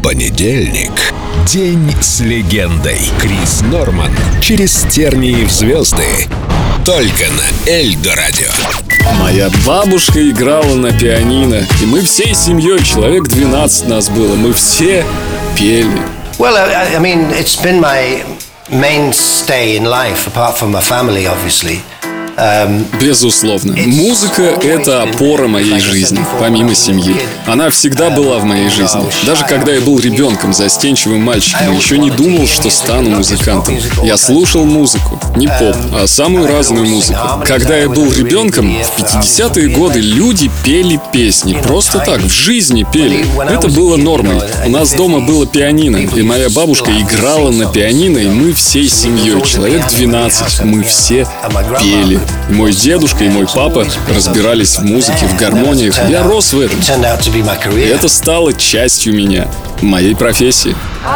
Понедельник. День с легендой. Крис Норман. Через тернии в звезды. Только на Эльдо Радио. Моя бабушка играла на пианино, и мы всей семьей, человек 12 нас было, мы все пели. Well, I mean, it's been my mainstay in life, apart from my family, obviously. Безусловно, музыка — это опора моей жизни, помимо семьи. Она всегда была в моей жизни. Даже когда я был ребенком, застенчивым мальчиком, еще не думал, что стану музыкантом. Я слушал музыку, не поп, а самую разную музыку. Когда я был ребенком, в 50-е годы люди пели песни, просто так, в жизни пели. Это было нормой. У нас дома было пианино, и моя бабушка играла на пианино, и мы всей семьей, человек 12, мы все пели. И мой дедушка и мой папа разбирались в музыке, в гармониях. Я рос в этом. И это стало частью меня, моей профессии.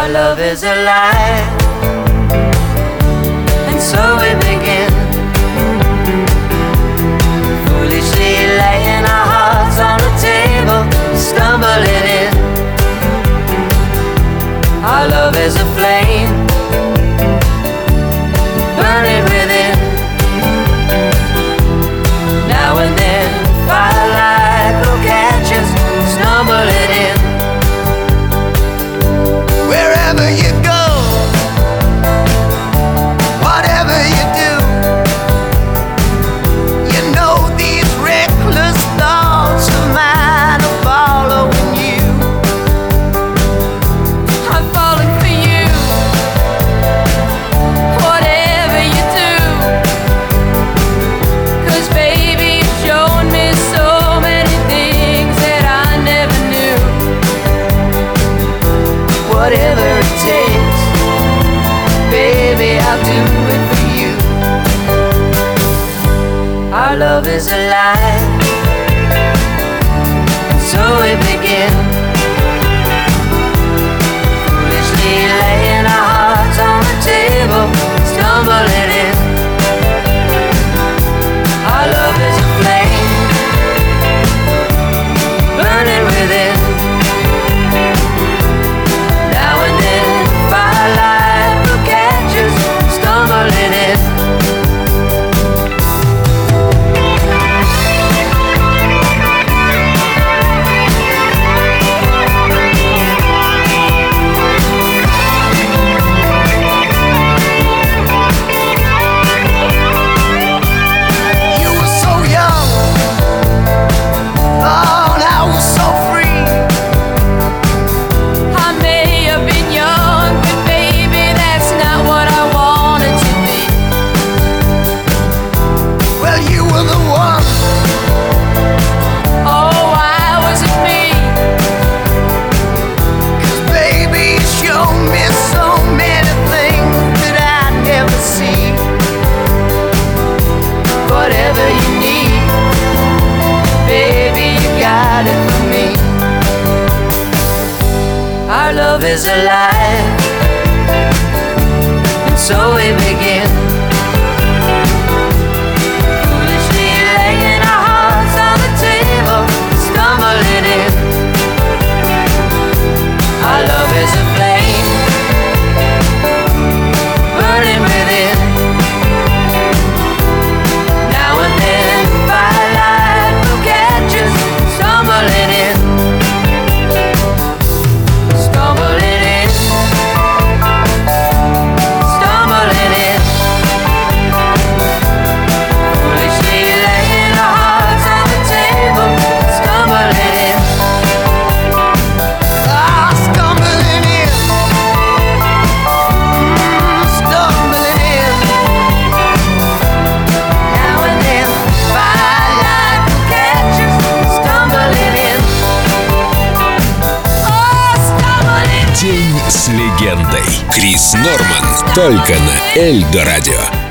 Whatever it takes, baby, I'll do it for you. Our love is alive, and so we begin. Foolishly laying our hearts on the table, stumbling in. Our love is a flame, burning within. Our love is alive, and so we begin. Foolishly laying our hearts on the table, stumbling in. Our love is a flame, burning within. Now and then, firelight will catch us, stumbling in. День с легендой. Крис Норман. Только на Эльдо Радио.